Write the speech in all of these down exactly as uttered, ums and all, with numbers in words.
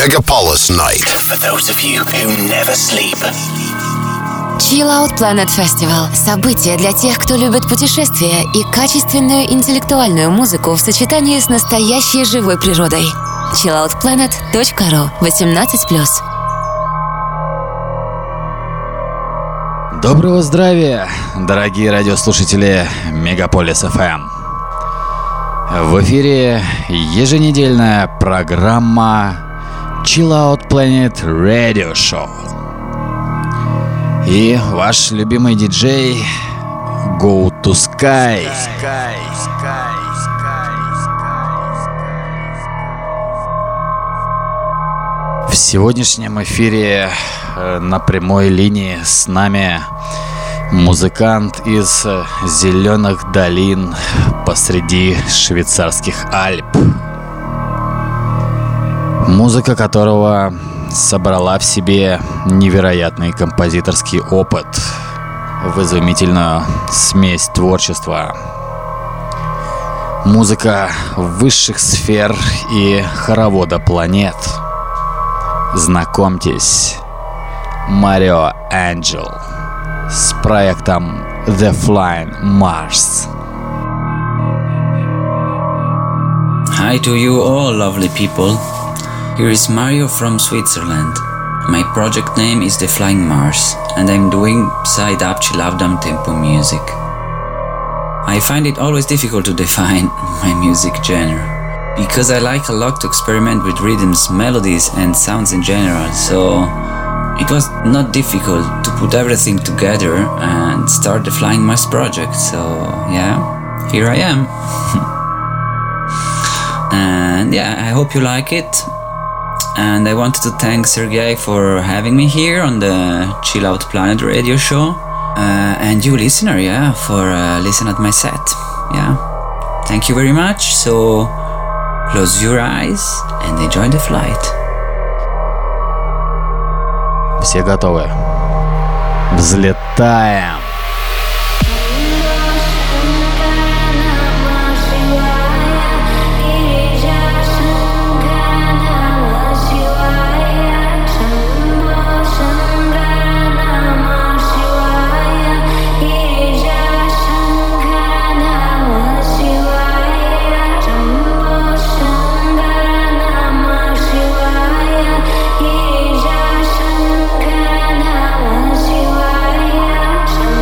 Megapolis Night. For those of you who never sleep. Chill Out Planet Festival – событие для тех, кто любит путешествия и качественную интеллектуальную музыку в сочетании с настоящей живой природой. чилл аут планет точка ру, восемнадцать плюс. Доброго здравия, дорогие радиослушатели Мегаполис эф эм. В эфире еженедельная программа Chill Out Planet Radio Show. И ваш любимый диджей Go to Sky. В сегодняшнем эфире на прямой линии с нами музыкант из зеленых долин посреди швейцарских Альп. Музыка которого собрала в себе невероятный композиторский опыт в изумительную смесь творчества. Музыка высших сфер и хоровода планет. Знакомьтесь, Марио Энджел с проектом The Flying Mars. Hi to you all lovely people. Here is Mario from Switzerland. My project name is The Flying Mars and I'm doing side-up chill-out tempo music. I find it always difficult to define my music genre because I like a lot to experiment with rhythms, melodies and sounds in general, so it was not difficult to put everything together and start the Flying Mars project, so yeah, here I am. And yeah, I hope you like it. And I wanted to thank Sergey for having me here on the Chill Out Planet radio show. Uh, and you listener, yeah, for uh, listening at my set. Yeah, thank you very much. So close your eyes and enjoy the flight. Все готовы? Взлетаем! Shivaya,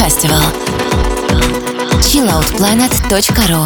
Festival. чилл аут планет точка ру.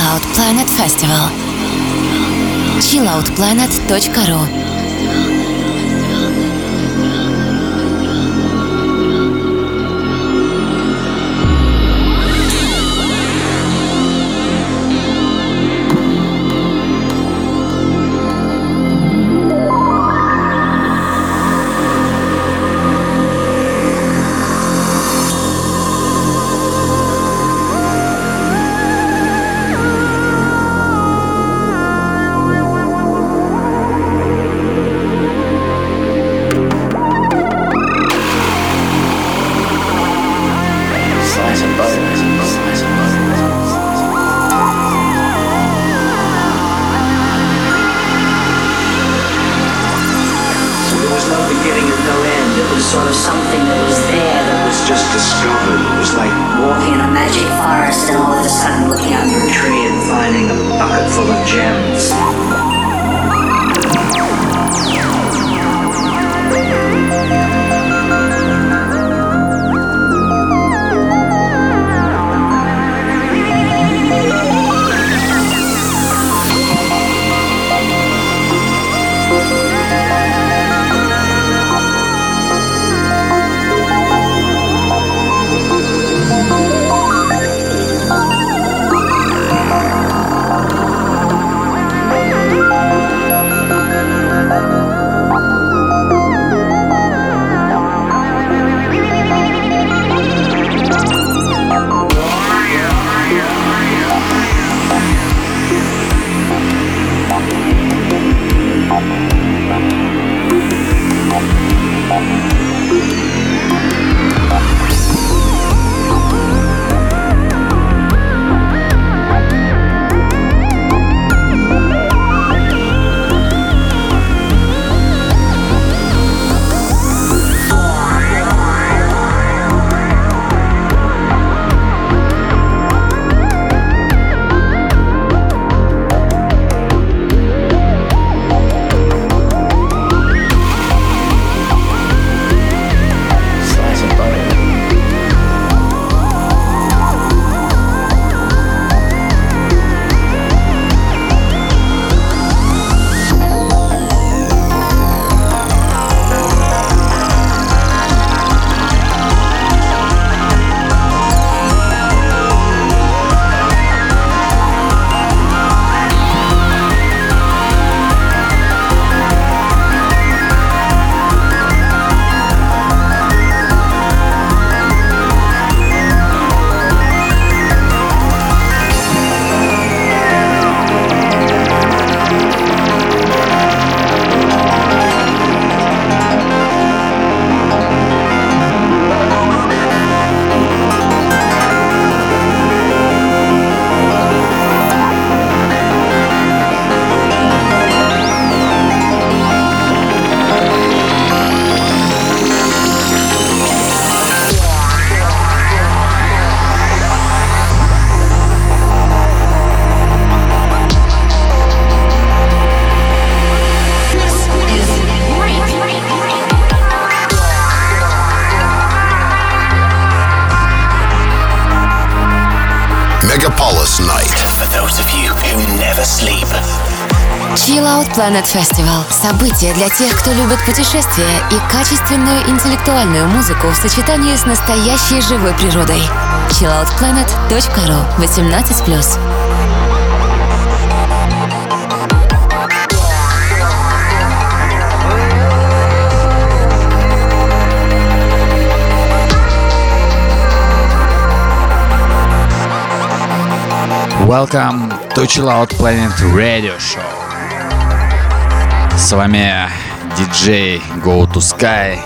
Out Planet Festival. чилл аут планет точка ру. Megapolis Night. For those of you who never sleep. Chill Out Planet Festival – событие для тех, кто любит путешествия и качественную интеллектуальную музыку в сочетании с настоящей живой природой. чилл аут планет точка ру. восемнадцать плюс. Welcome to Chill Out Planet Radio Show. С вами диджей Go to Sky.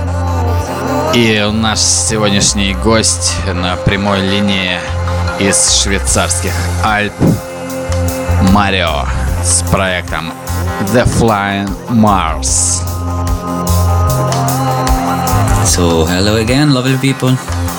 И наш сегодняшний гость на прямой линии из швейцарских Альп Марио с проектом The Flying Mars. So, hello again, lovely people.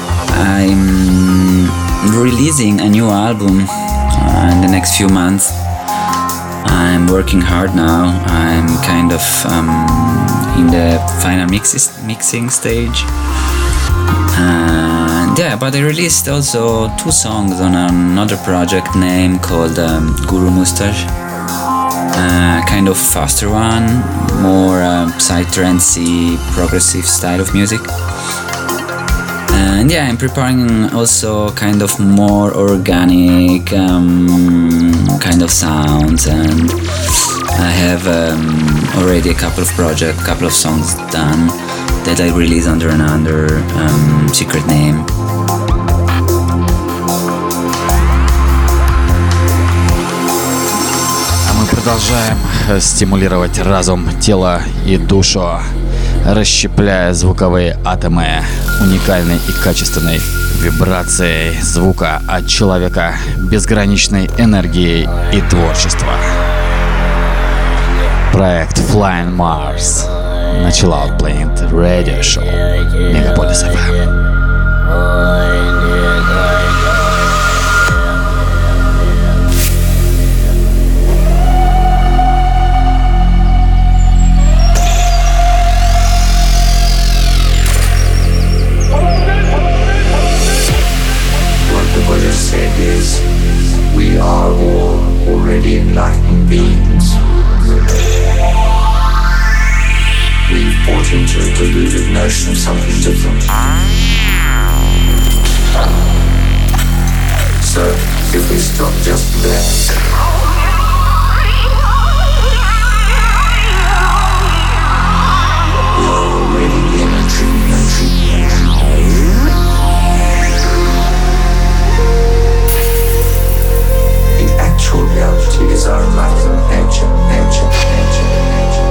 I'm releasing a new album uh, in the next few months. I'm working hard now. I'm kind of um, in the final mixes, mixing stage. And yeah, but I released also two songs on another project name called um, Guru Mustache. Uh, kind of faster one, more uh, psytrancey, progressive style of music. And yeah, I'm preparing also kind of more organic um, kind of sounds, and I have um, already a couple of projects, couple of songs done that I release under another um, secret name. Продолжаем стимулировать разум, тело и душу, расщепляя звуковые атомы уникальной и качественной вибрацией звука от человека, безграничной энергией и творчества. Проект Flying Mars на Chill Out Planet Radio Show Мегаполис эф эм. We are all already enlightened beings. We've bought into a deluded notion of something different. So, if we stop just there, we are already in a dream, a dream, a dream. Actual reality is our enlightened nature, nature, nature, nature.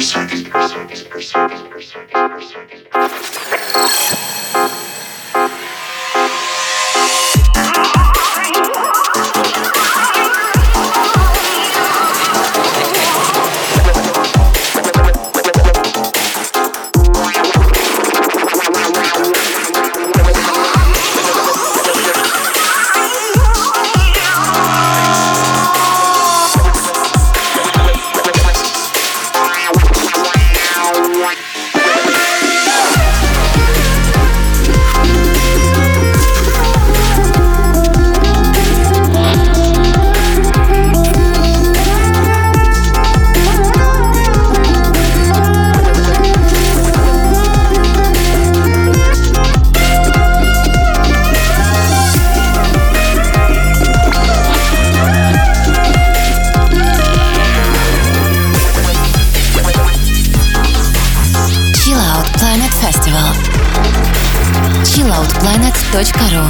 чилл аут планет точка ру.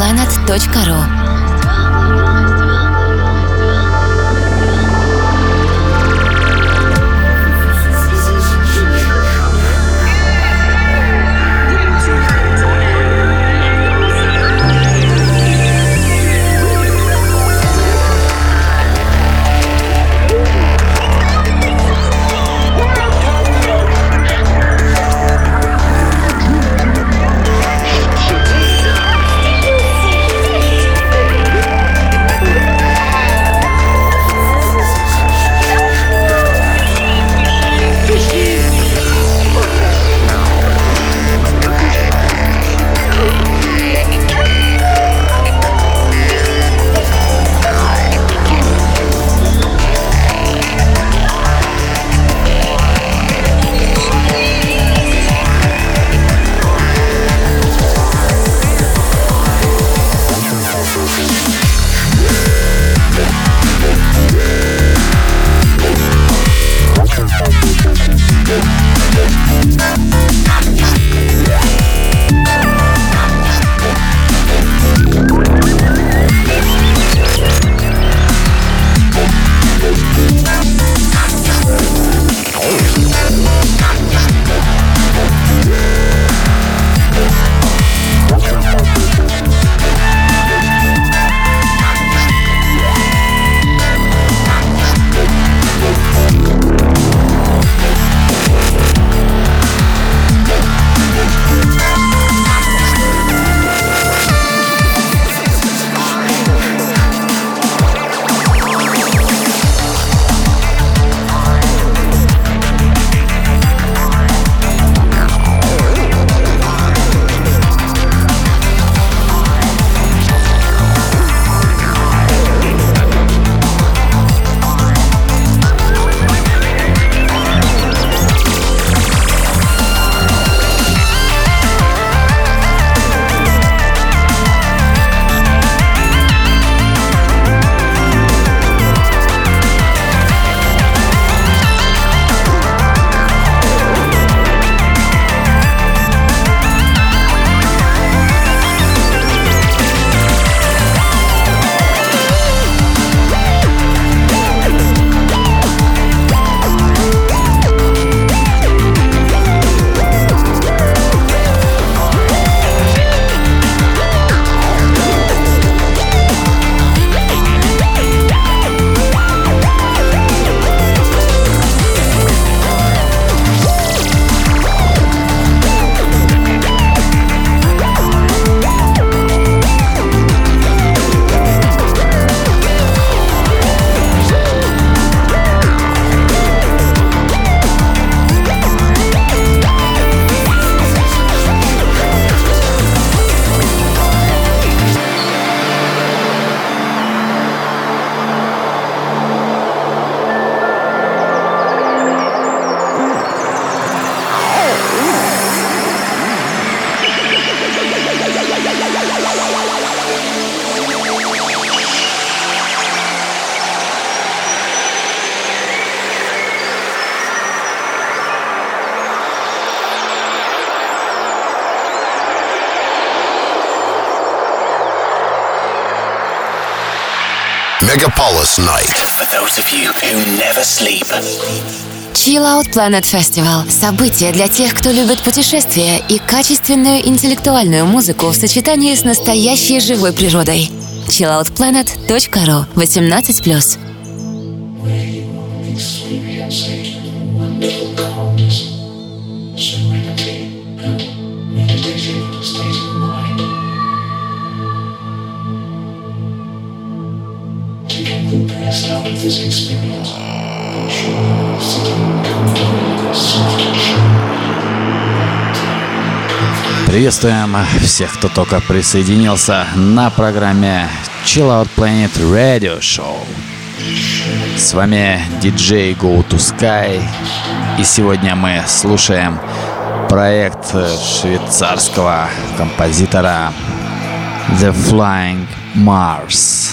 planet точка ру. Megapolis Night. For those of you who never sleep. Chill Out Planet Festival – событие для тех, кто любит путешествия и качественную интеллектуальную музыку в сочетании с настоящей живой природой. чилл аут планет точка ру. восемнадцать плюс. Приветствуем всех, кто только присоединился на программе Chill Out Planet Radio Show. С вами диджей Go to Sky, и сегодня мы слушаем проект швейцарского композитора The Flying Mars.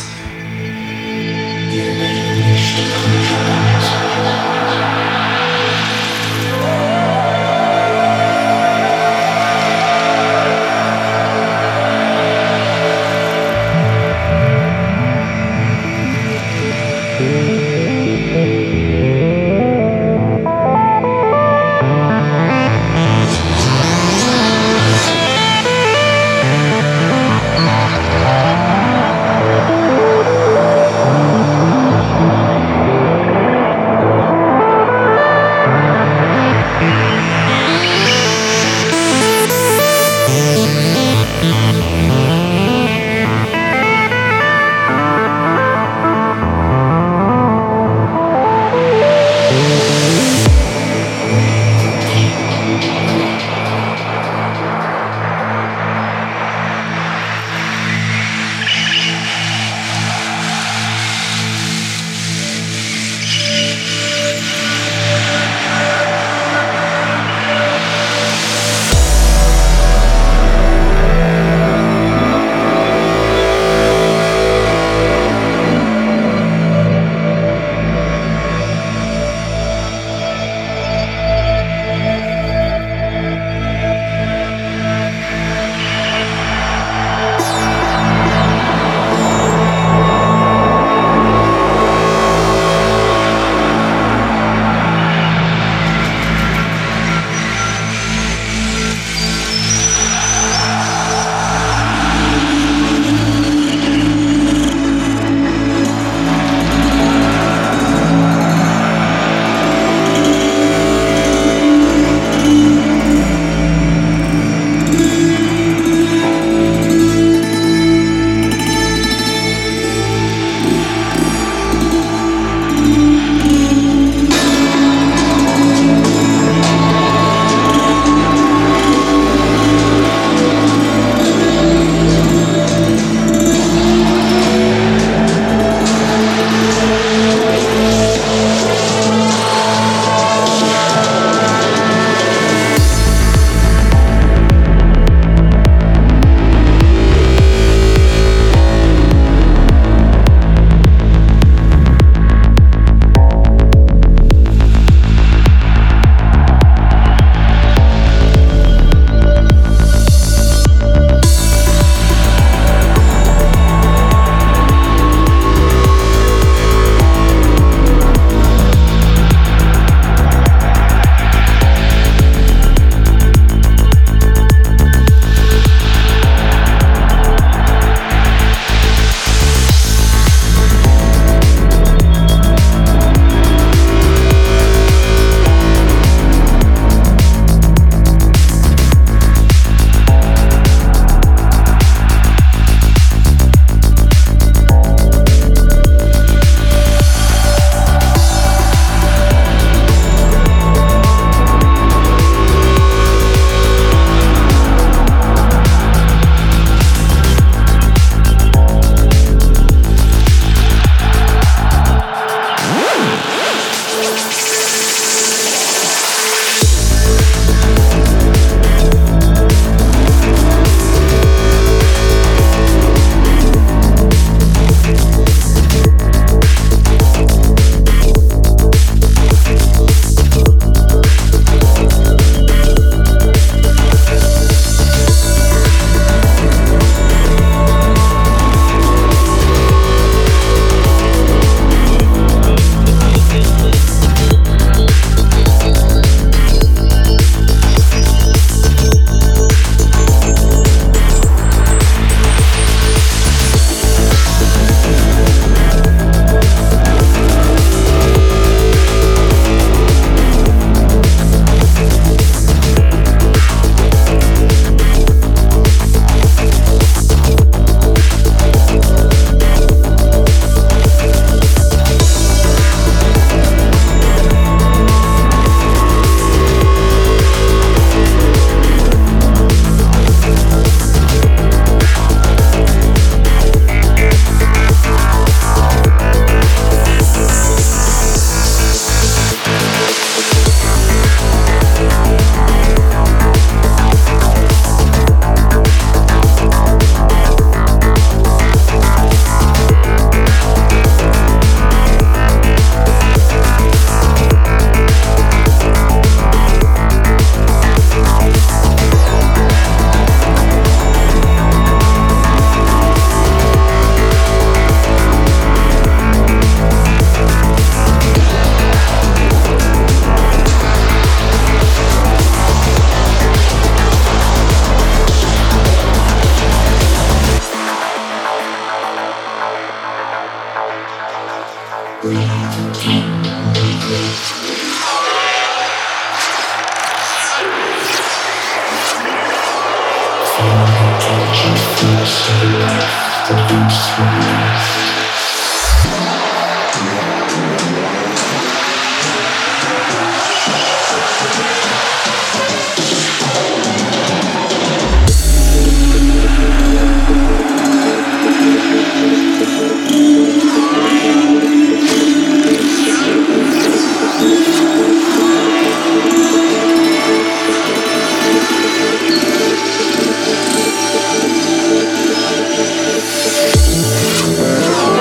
Thank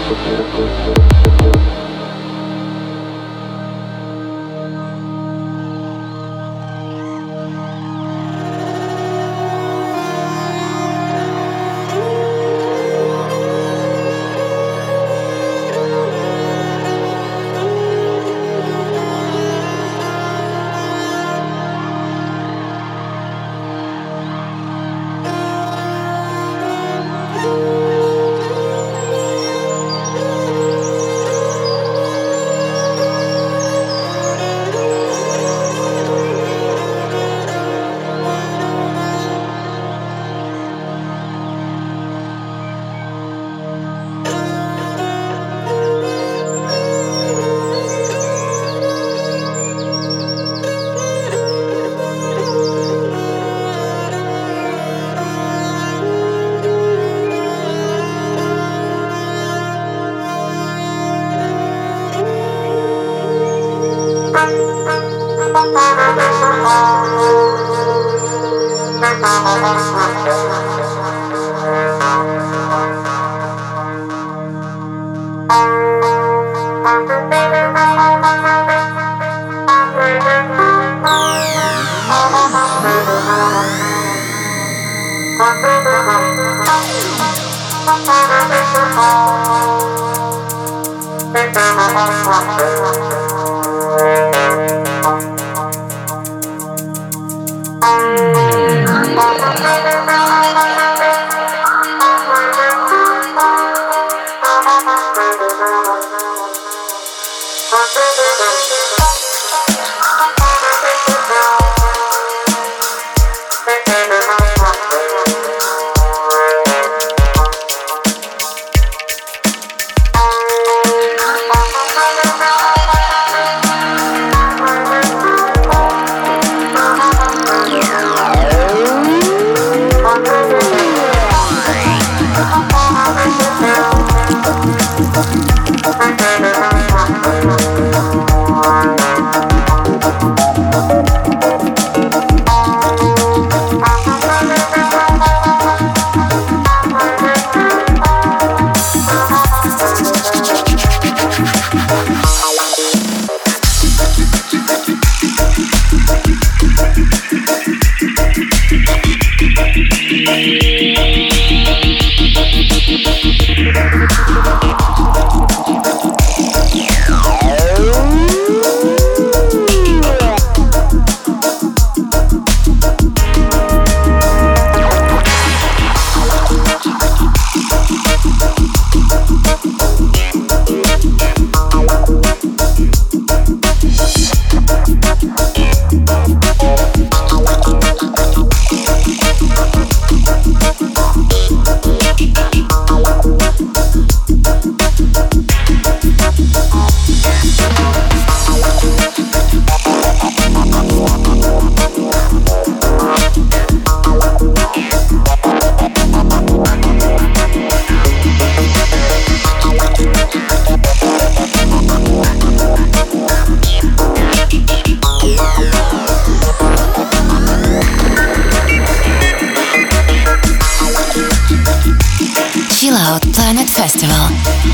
Festival.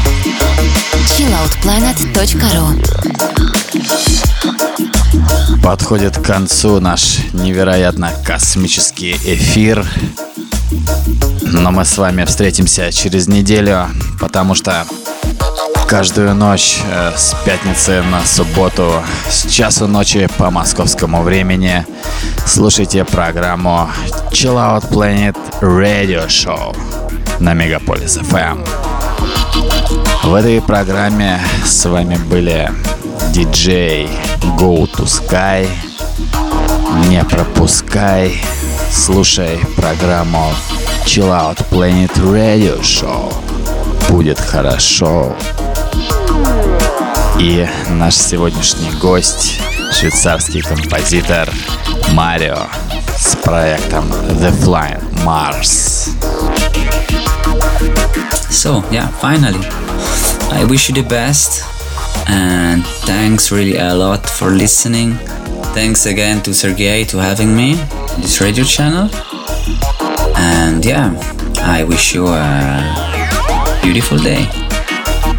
чилл аут планет точка ру. Подходит к концу наш невероятно космический эфир. Но мы с вами встретимся через неделю, потому что каждую ночь э, с пятницы на субботу с часу ночи по московскому времени слушайте программу Chill Out Planet Radio Show на Мегаполис эф эм. В этой программе с вами были диджей Go to Sky. Не пропускай, слушай программу Chill Out Planet Radio Show. Будет хорошо. И наш сегодняшний гость, швейцарский композитор Марио с проектом The Flying Mars. So, yeah, finally, I wish you the best, and thanks really a lot for listening. Thanks again to Sergey to having me on this radio channel, and yeah, I wish you a beautiful day.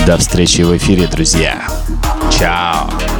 До встречи в эфире, друзья. Чао.